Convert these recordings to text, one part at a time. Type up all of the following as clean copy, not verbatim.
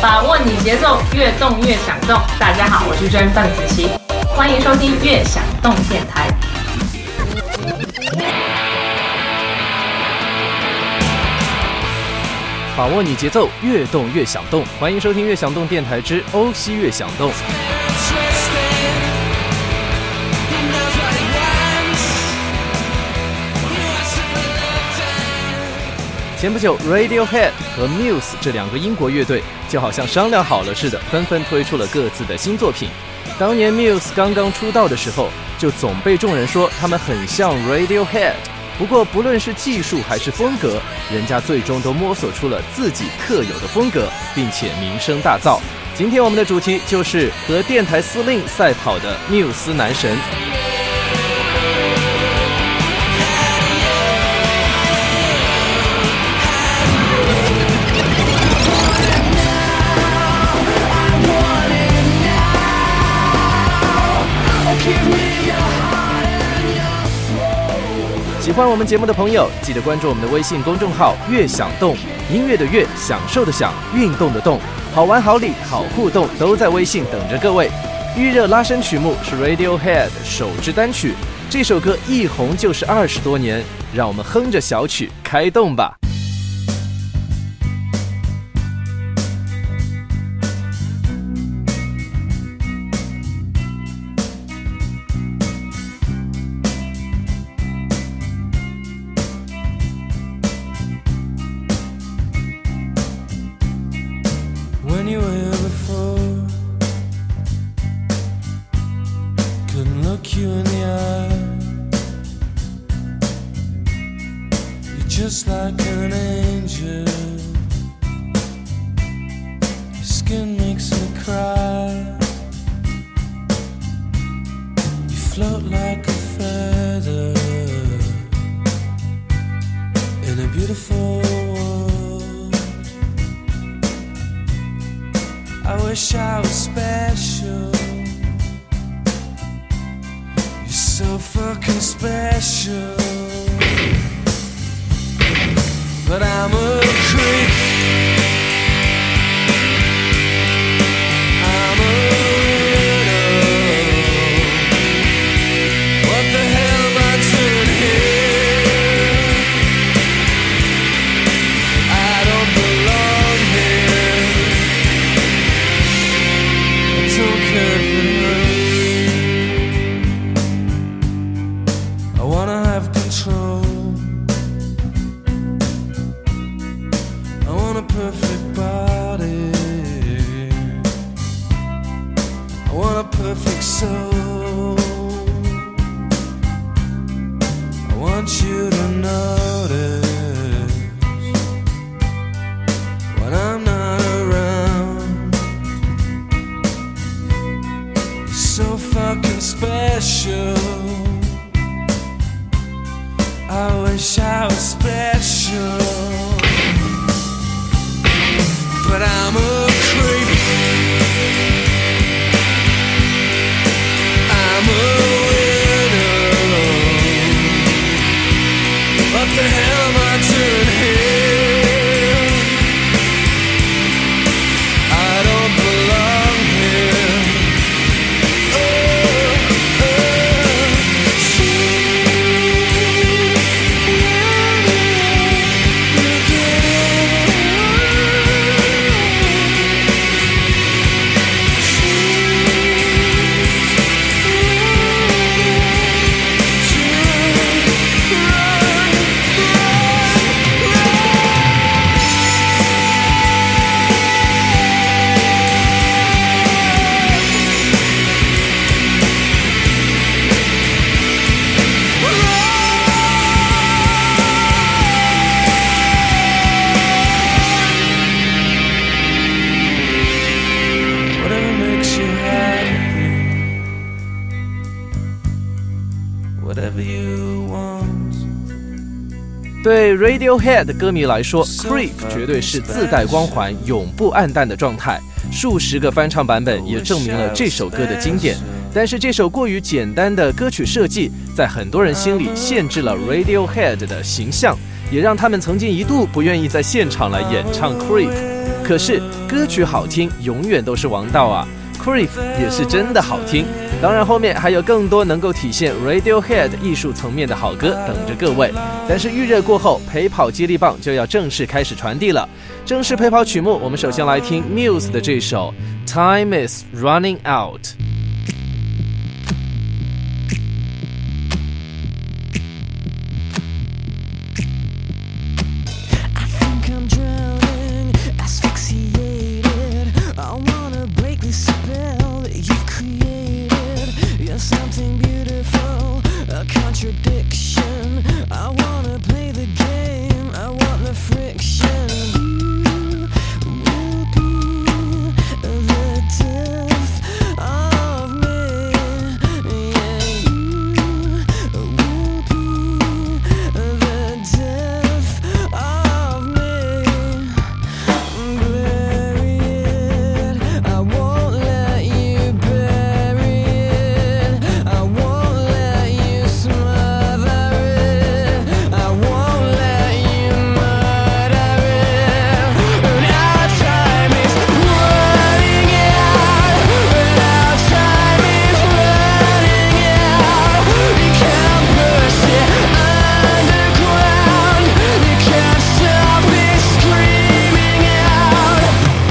把握你节奏，越动越想动。大家好，我是真范子琪，欢迎收听悦享动电台。 把握你节奏，越动越想动。欢迎收听悦享动电台之欧西悦享动。前不久 Radiohead 和 Muse 这两个英国乐队就好像商量好了似的，纷纷推出了各自的新作品。当年 Muse 刚刚出道的时候，就总被众人说他们很像 Radiohead， 不过不论是技术还是风格，人家最终都摸索出了自己特有的风格，并且名声大噪。今天我们的主题就是和电台司令赛跑的缪斯男神。喜欢我们节目的朋友，记得关注我们的微信公众号“悦享动”，音乐的悦，享受的享，运动的动，好玩好礼好互动都在微信等着各位。预热拉伸曲目是 Radiohead 首支单曲，这首歌一红就是20多年，让我们哼着小曲开动吧。 Just like an angel, your skin makes me cry. You float like a feather in a beautiful world. I wish I was special. You're so fucking special.But I'm a creep. I'm a widow. What the hell am I doing here? I don't belong here. I don't care if it hurts. I wanna have control.Perfect body, I want a perfect soul. I want you to notice when I'm not around. You're so fucking special. I wish I was special.But I'm a creep. I'm a widow. What the hell am I doing here? I don't belong here. Oh, whatever you want。 对 Radiohead 歌迷来说， Creep 绝对是自带光环永不暗淡的状态，数十个翻唱版本也证明了这首歌的经典。但是这首过于简单的歌曲设计，在很多人心里限制了 Radiohead 的形象，也让他们曾经一度不愿意在现场来演唱 Creep。 可是歌曲好听永远都是王道啊。Creep 也是真的好听，当然后面还有更多能够体现 Radiohead 艺术层面的好歌等着各位。但是预热过后，陪跑接力棒就要正式开始传递了。正式陪跑曲目，我们首先来听 Muse 的这首 Time is Running Out。 Something beautiful, a contradiction. I wanna play the game, I want the friction. You will be the death of me. Yeah, you will be the death of me. Bury it, I won't let you bury it. I won't let you smother it. I won't let you murder it. And our time is running out. And our time is running out. You can't push it underground. You can't stop it screaming out.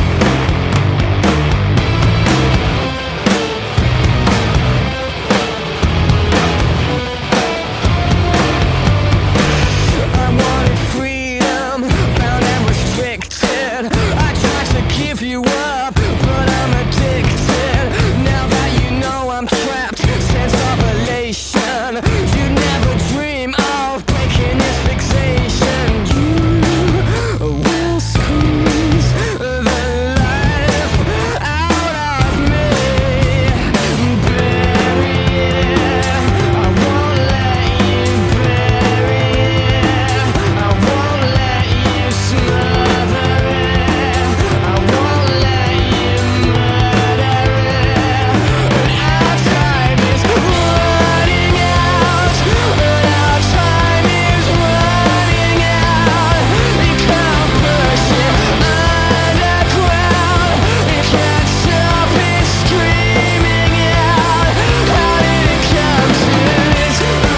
I wanted freedom, bound and restricted. I tried to give you up, but I'm addicted. Now that you know I'm trapped, sense of elation. You never dream of breaking this fixation. You will squeeze the life out of me. Bury it, I won't let you bury it. I won't let you smother it. I won't let you murder it. And our time is running out. And our time is running out. You can't push it underground. You can't stop it screaming out. How did it come to this?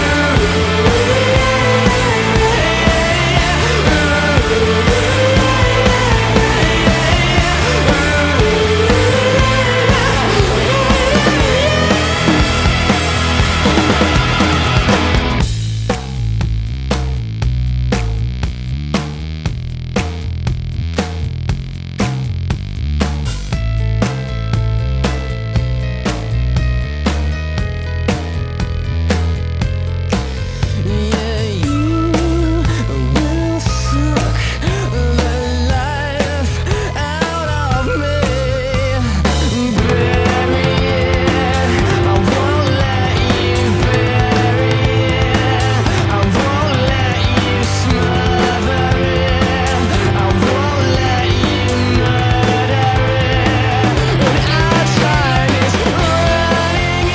Yeah, you will suck the life out of me. Bury it, I won't let you bury it. I won't let you smother it. I won't let you murder it. And our time is running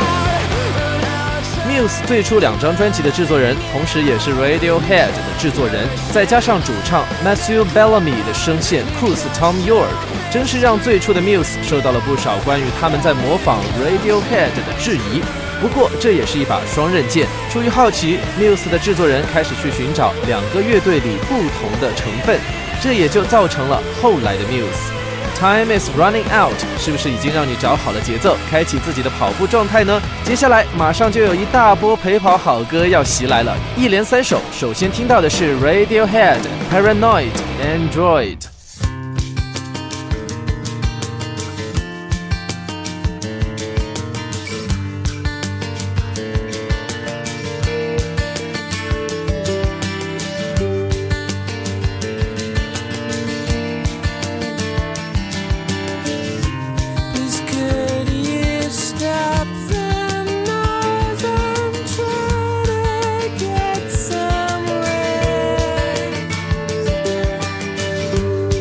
out. Muse 最初2张专辑的制作人，同时也是 Radiohead 的制作人，再加上主唱 Matthew Bellamy 的声线酷似 Tom York， 真是让最初的 Muse 受到了不少关于他们在模仿 Radiohead 的质疑。不过这也是一把双刃剑，出于好奇 ，Muse 的制作人开始去寻找2个乐队里不同的成分，这也就造成了后来的 Muse。Time is running out， 是不是已经让你找好了节奏，开启自己的跑步状态呢？接下来马上就有一大波陪跑好歌要袭来了，一连3首。首先听到的是 Radiohead Paranoid Android。 Please could you stop the noise? I'm trying to get some rest.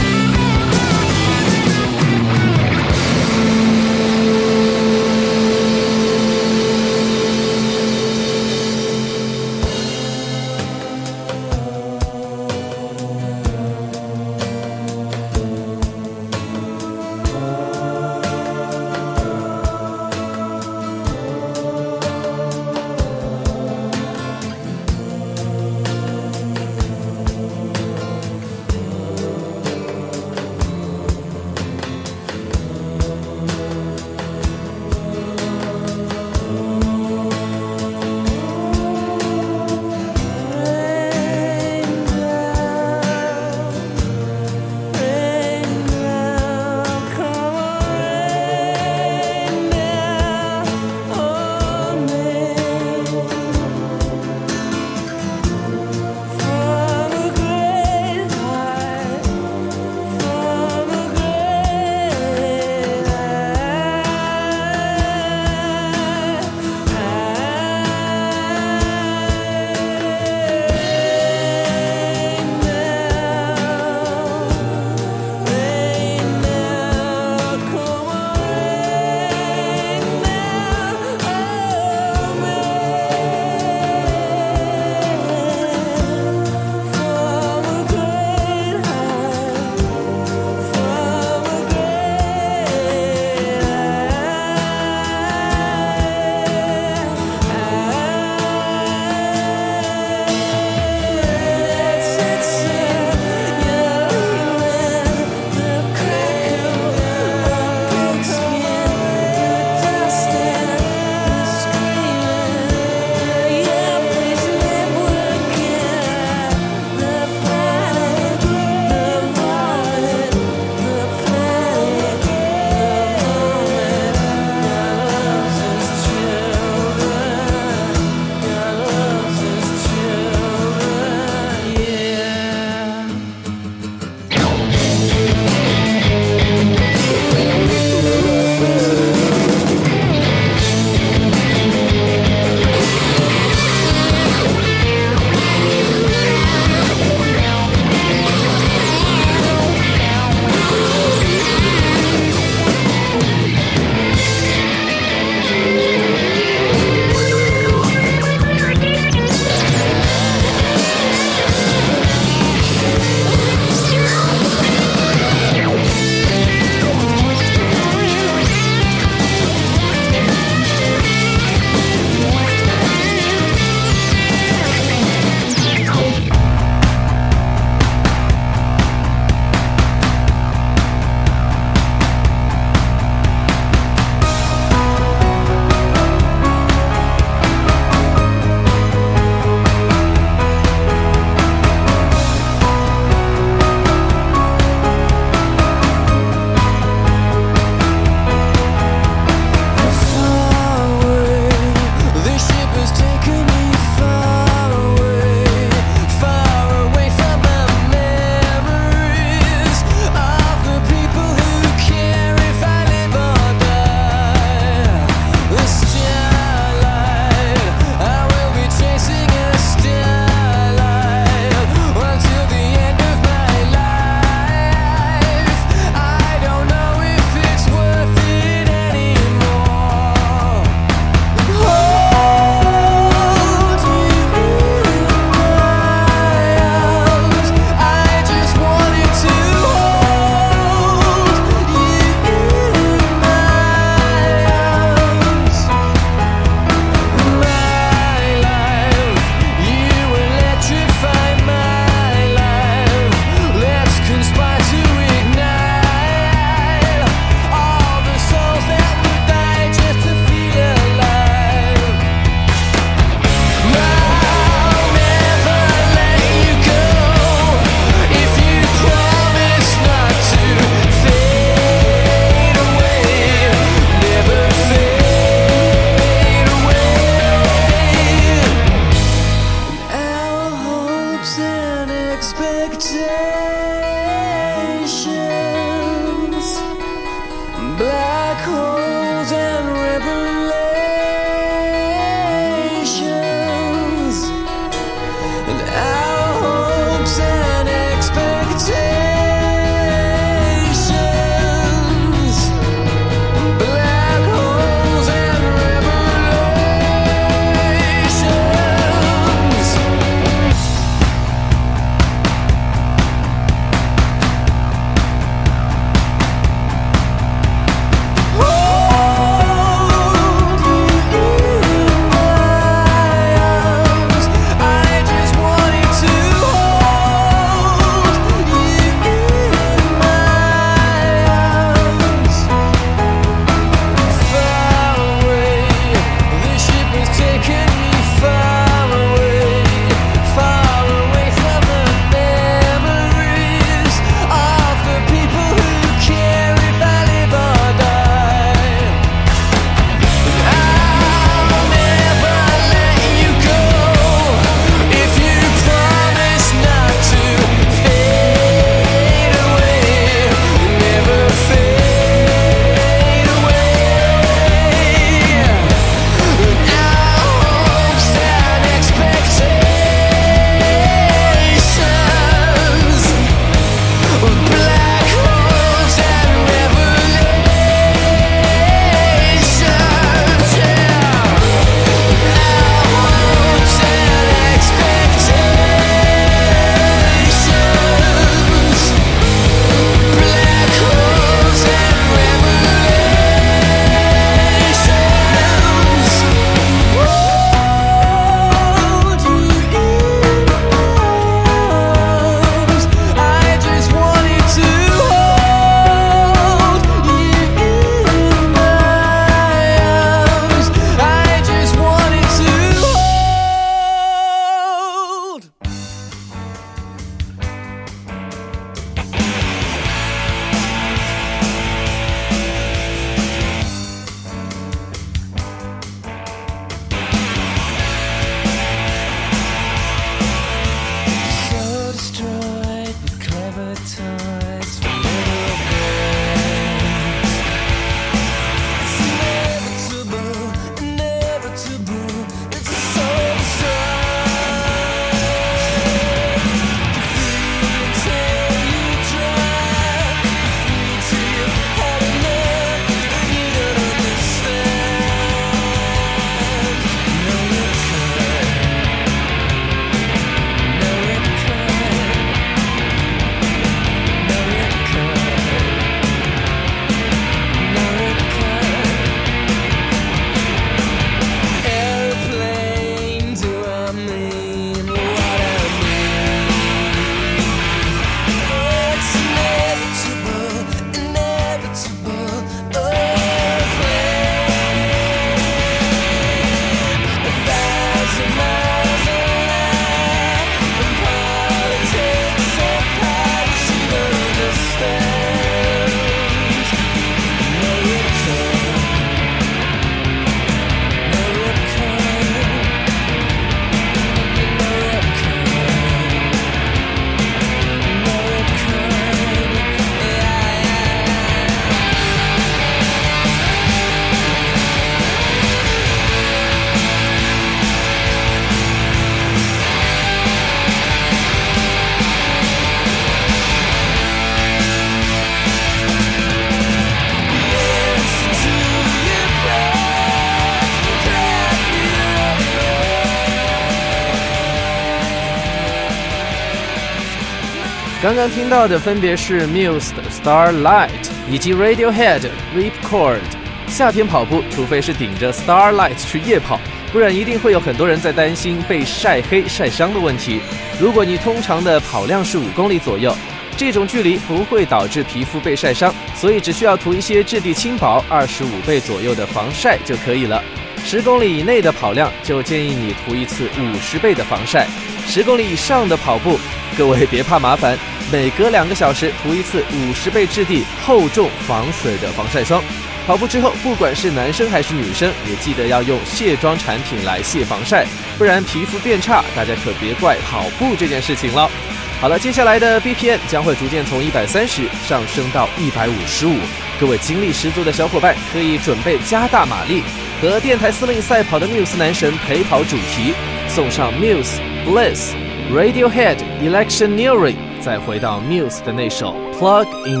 刚刚听到的分别是 Muse 的 Starlight 以及 Radiohead Ripcord。夏天跑步，除非是顶着 Starlight 去夜跑，不然一定会有很多人在担心被晒黑晒伤的问题。如果你通常的跑量是5公里左右，这种距离不会导致皮肤被晒伤，所以只需要涂一些质地轻薄25倍左右的防晒就可以了。10公里以内的跑量就建议你涂一次50倍的防晒，10公里以上的跑步，各位别怕麻烦，每隔2个小时涂一次50倍质地厚重防水的防晒霜。跑步之后，不管是男生还是女生，也记得要用卸妆产品来卸防晒，不然皮肤变差，大家可别怪跑步这件事情了。好了，接下来的 BPM 将会逐渐从130上升到155，各位精力十足的小伙伴可以准备加大马力，和电台司令赛跑的 Muse 男神陪跑主题，送上 Muse、Bliss、Radiohead Electioneering， 再回到 Muse 的那首 Plug In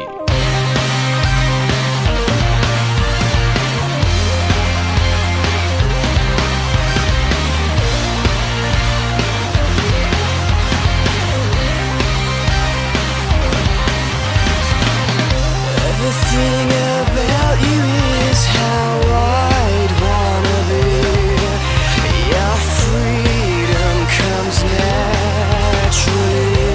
Baby。Everything about you is how I'd wanna be. Your freedom comes naturally.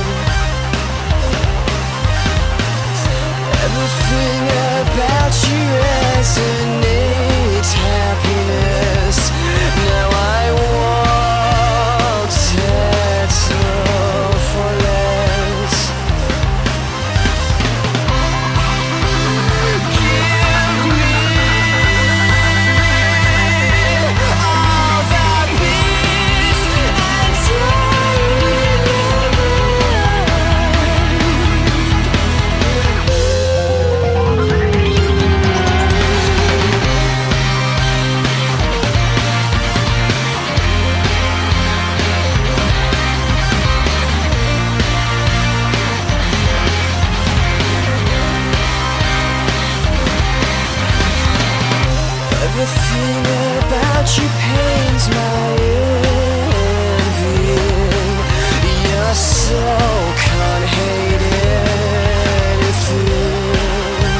Everything about you resonates happiness. Now I won't settle for less. Give me all the peace and Everything about you pains my envy. Your soul can't hate anything.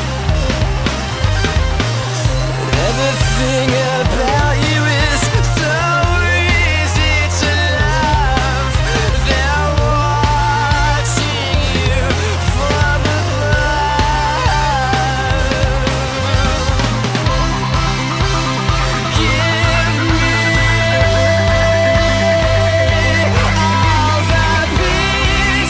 Everything about you is so easy to love. They're watching you from above. Give me all the peace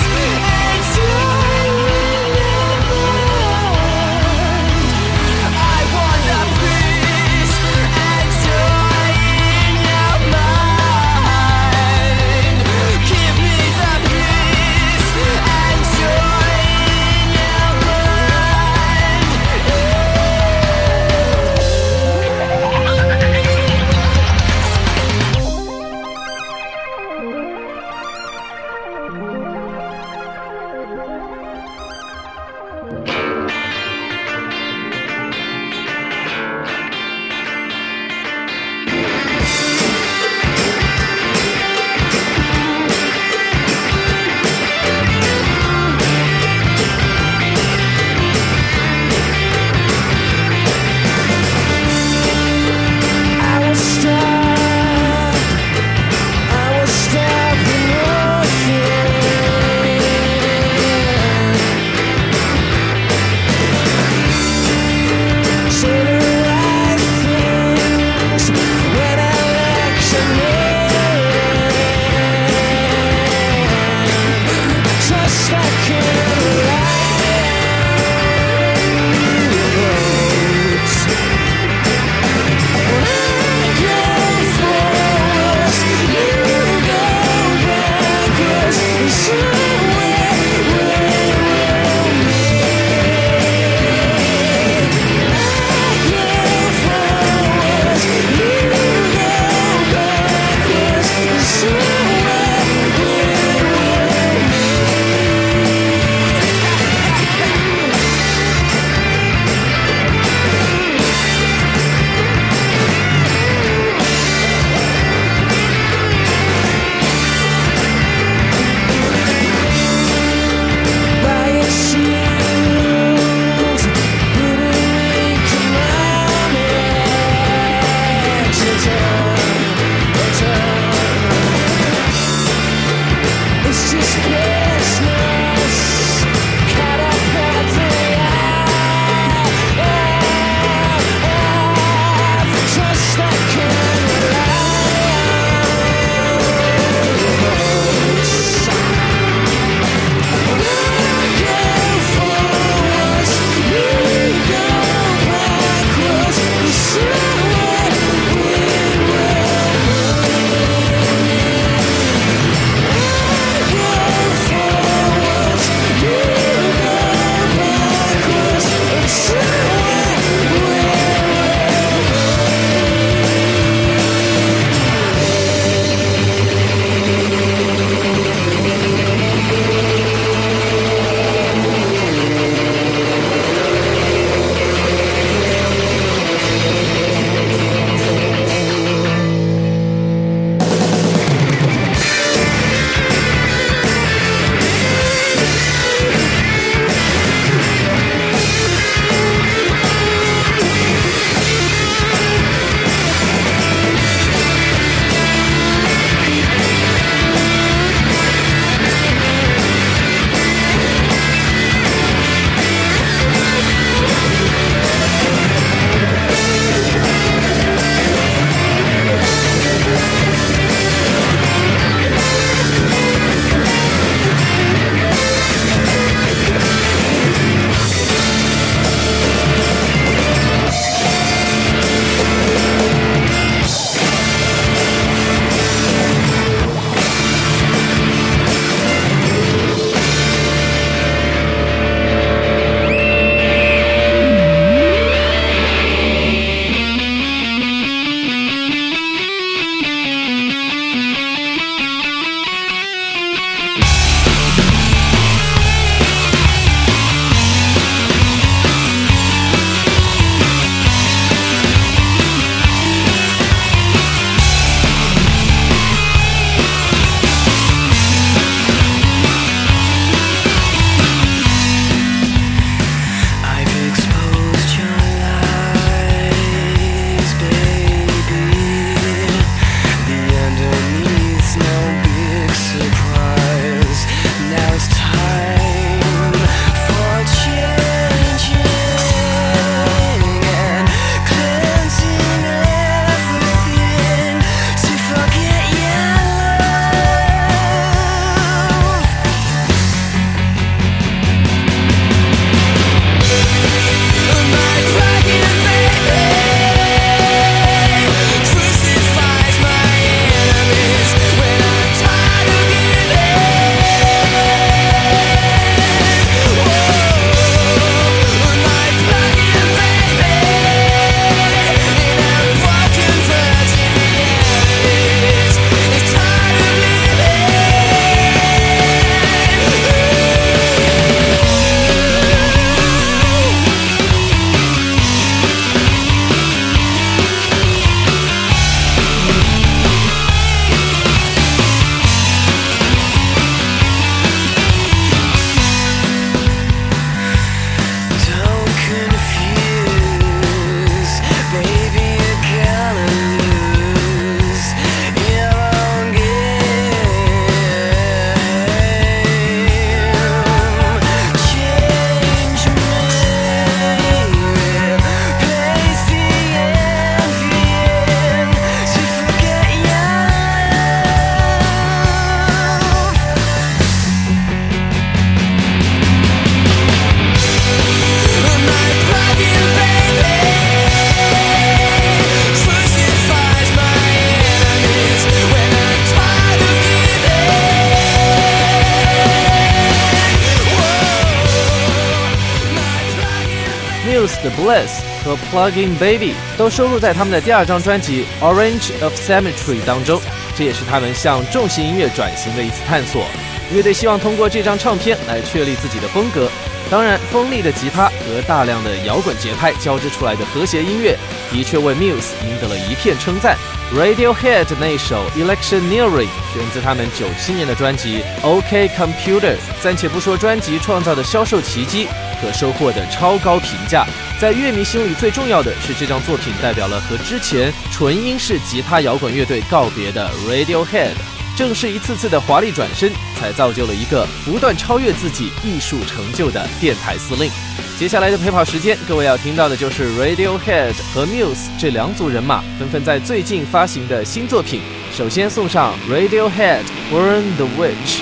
the Bliss 和 Plug-in Baby 都收录在他们的第2张专辑 Orange of Symmetry 当中，这也是他们向重型音乐转型的一次探索。乐队希望通过这张唱片来确立自己的风格，当然锋利的吉他和大量的摇滚节拍交织出来的和谐音乐的确为 Muse 赢得了一片称赞。 Radiohead 那首 Electioneering 选自他们97年的专辑 OK Computer， 暂且不说专辑创造的销售奇迹和收获的超高评价，在乐迷心里最重要的是这张作品代表了和之前纯英式吉他摇滚乐队告别的 Radiohead，正是一次次的华丽转身，才造就了一个不断超越自己艺术成就的电台司令。接下来的陪跑时间，各位要听到的就是 Radiohead 和 Muse 这2组人马纷纷在最近发行的新作品。首先送上 Radiohead Burn the Witch。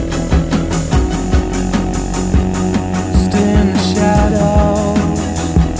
In the shadows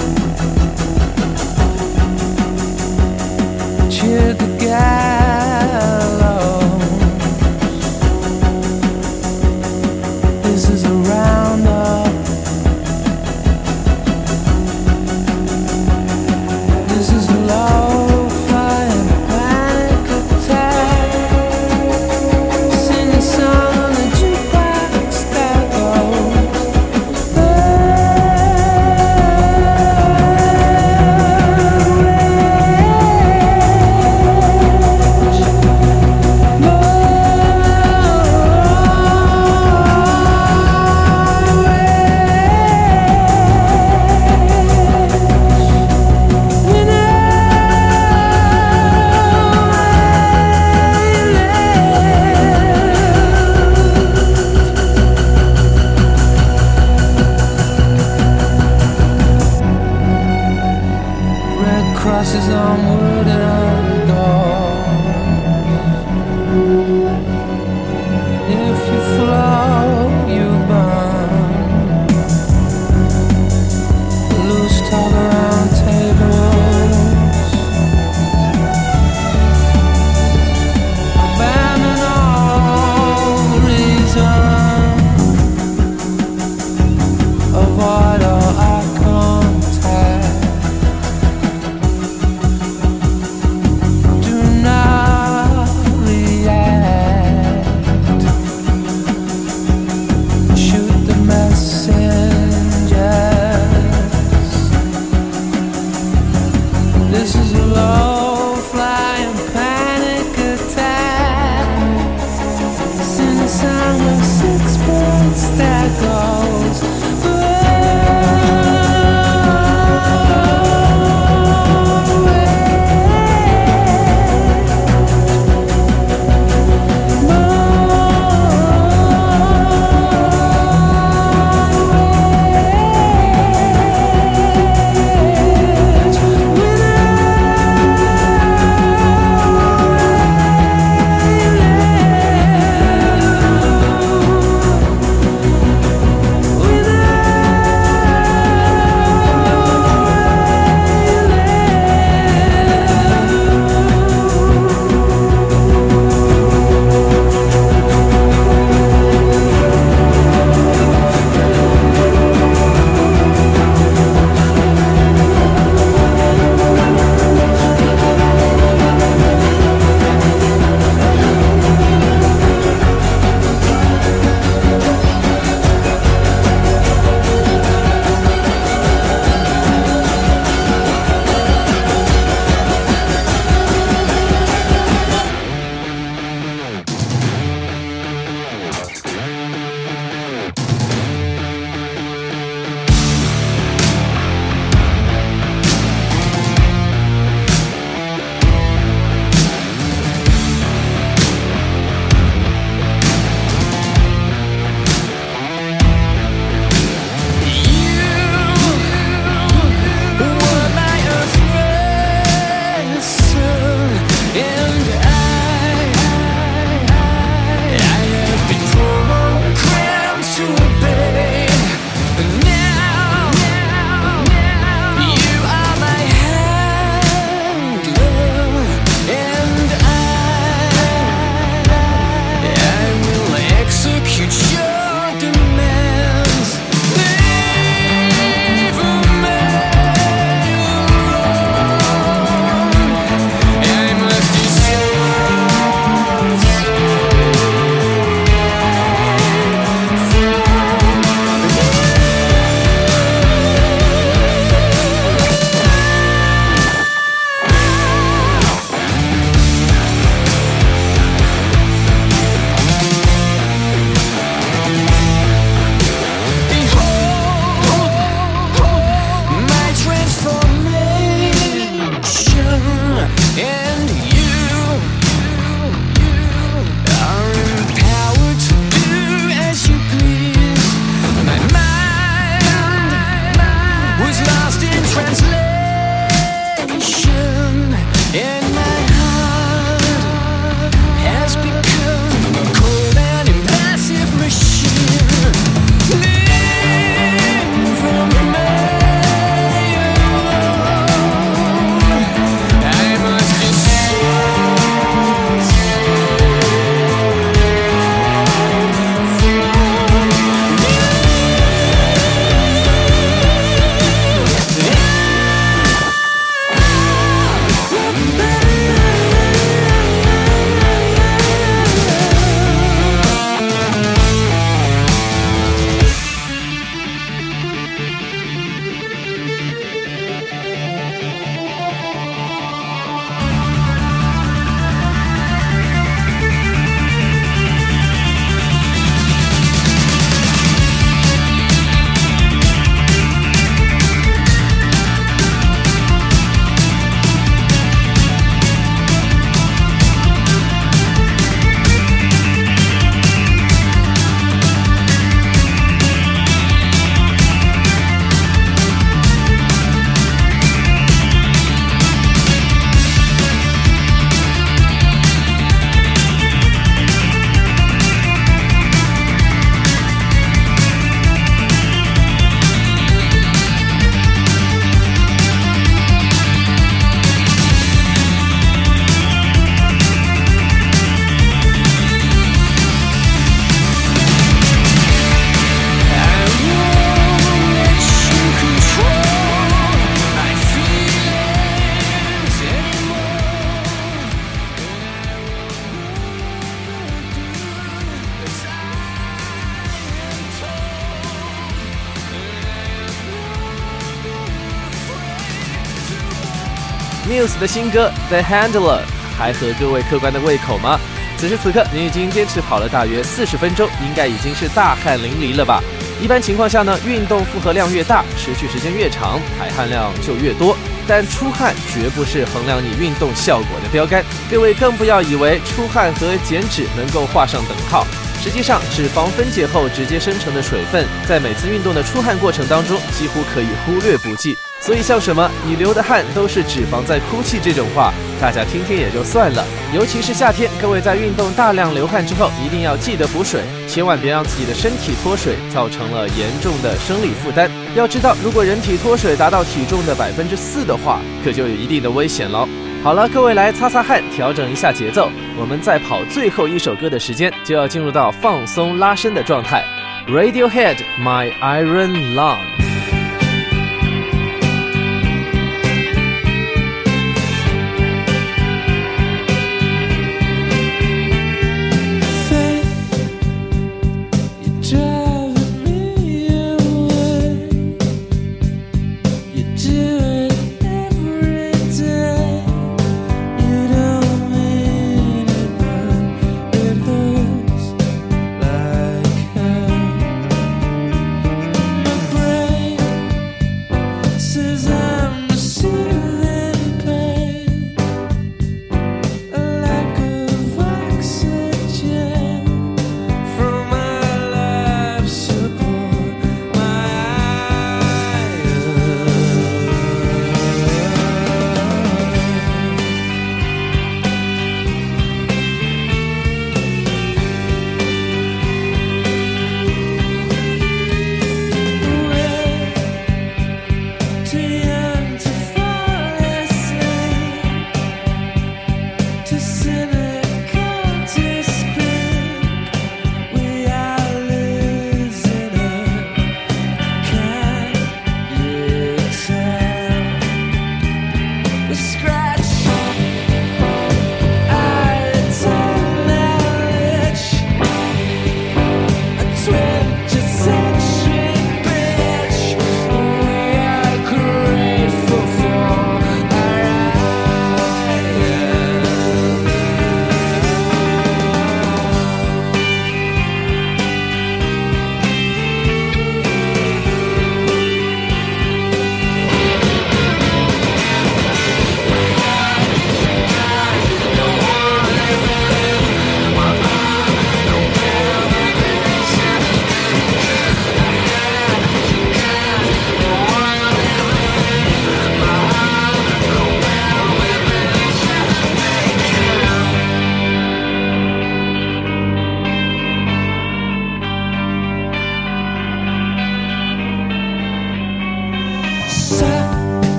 Muse 的新歌 The Handler 还合各位客官的胃口吗？此时此刻你已经坚持跑了大约40分钟，应该已经是大汗淋漓了吧。一般情况下呢，运动负荷量越大，持续时间越长，排汗量就越多，但出汗绝不是衡量你运动效果的标杆，各位更不要以为出汗和减脂能够画上等号。实际上，脂肪分解后直接生成的水分，在每次运动的出汗过程当中，几乎可以忽略不计。所以像什么你流的汗都是脂肪在哭泣这种话，大家听听也就算了。尤其是夏天，各位在运动大量流汗之后，一定要记得补水，千万别让自己的身体脱水，造成了严重的生理负担。要知道，如果人体脱水达到体重的4%的话，可就有一定的危险了。好了，各位来擦擦汗，调整一下节奏，我们在跑最后一首歌的时间，就要进入到放松拉伸的状态。Radiohead My Iron Lung。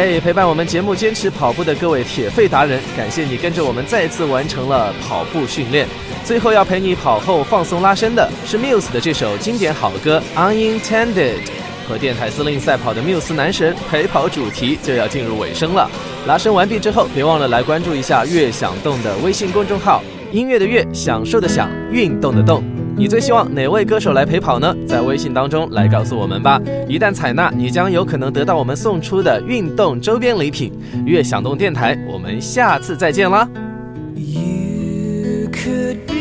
陪伴我们节目坚持跑步的各位铁肺达人，感谢你跟着我们再次完成了跑步训练。最后要陪你跑后放松拉伸的是 Muse 的这首经典好歌 Unintended。 和电台司令赛跑的 Muse 男神陪跑主题就要进入尾声了。拉伸完毕之后，别忘了来关注一下乐享动的微信公众号，音乐的乐，享受的享，运动的动。你最希望哪位歌手来陪跑呢？在微信当中来告诉我们吧。一旦采纳，你将有可能得到我们送出的运动周边礼品。乐享动电台，我们下次再见啦。 You could be